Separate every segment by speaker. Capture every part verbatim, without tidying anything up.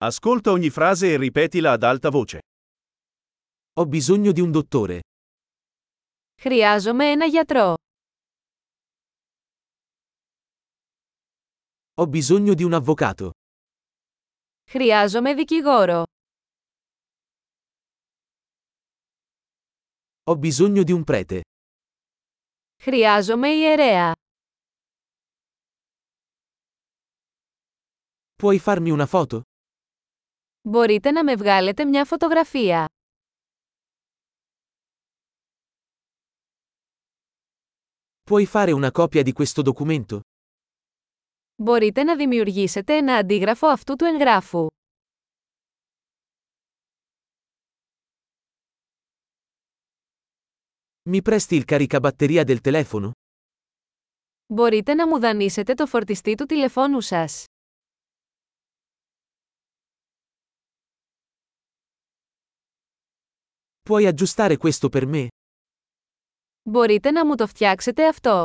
Speaker 1: Ascolta ogni frase e ripetila ad alta voce.
Speaker 2: Ho bisogno di un dottore.
Speaker 3: Χρειάζομαι ένα γιατρό.
Speaker 2: Ho bisogno di un avvocato.
Speaker 3: Χρειάζομαι δικηγόρο.
Speaker 2: Ho bisogno di un prete.
Speaker 3: Χρειάζομαι ιερέα.
Speaker 2: Puoi farmi una foto?
Speaker 3: Μπορείτε να με βγάλετε μια φωτογραφία.
Speaker 2: Puoi fare una copia di questo documento?
Speaker 3: Μπορείτε να δημιουργήσετε ένα αντίγραφο αυτού του εγγράφου.
Speaker 2: Mi presti il caricabatteria del telefono?
Speaker 3: Μπορείτε να μου δανείσετε το φορτιστή του τηλεφώνου σας.
Speaker 2: Puoi aggiustare questo per me?
Speaker 3: Μπορείτε να μου το φτιάξετε αυτό.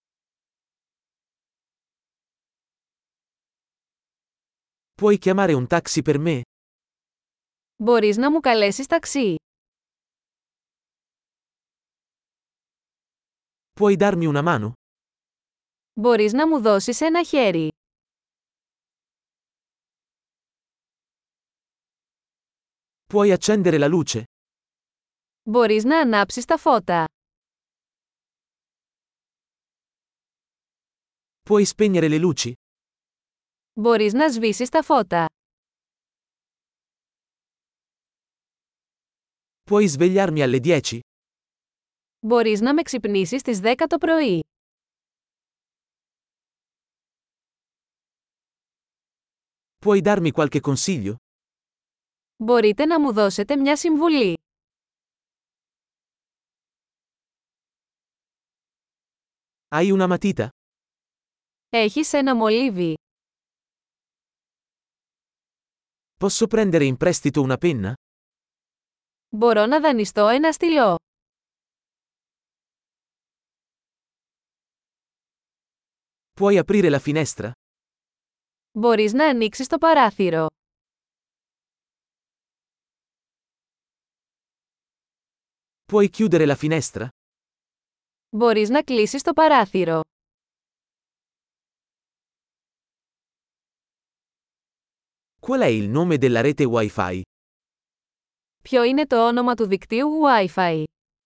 Speaker 2: Puoi chiamare un taxi per me?
Speaker 3: Μπορείς να μου καλέσεις ταξί.
Speaker 2: Puoi darmi una mano?
Speaker 3: Μπορείς να μου δώσεις ένα χέρι.
Speaker 2: Puoi accendere la luce?
Speaker 3: Μπορείς να ανάψεις τα φώτα.
Speaker 2: Puoi spegnere le luci?
Speaker 3: Μπορείς να σβήσεις τα φώτα.
Speaker 2: Puoi svegliarmi alle dieci?
Speaker 3: Μπορείς να με ξυπνήσεις στις δέκα το πρωί.
Speaker 2: Puoi darmi qualche consiglio?
Speaker 3: Μπορείτε να μου δώσετε μια συμβουλή.
Speaker 2: Hai una matita?
Speaker 3: Έχεις ένα μολύβι.
Speaker 2: Posso prendere in prestito una penna?
Speaker 3: Μπορώ να δανειστώ ένα στυλό.
Speaker 2: Puoi aprire la finestra?
Speaker 3: Μπορείς να ανοίξεις το παράθυρο.
Speaker 2: Puoi chiudere la finestra?
Speaker 3: Μπορείς να κλείσεις το παράθυρο.
Speaker 2: Qual è il nome della rete Wi-Fi?
Speaker 3: Ποιο είναι το όνομα του δικτύου Wi-Fi?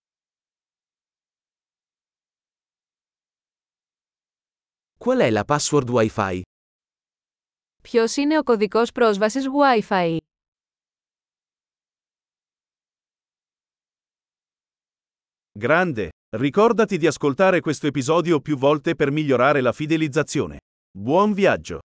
Speaker 2: Qual è la password Wi-Fi?
Speaker 3: Ποιος είναι ο κωδικός πρόσβασης Wi-Fi?
Speaker 1: Grande! Ricordati di ascoltare questo episodio più volte per migliorare la fidelizzazione. Buon viaggio!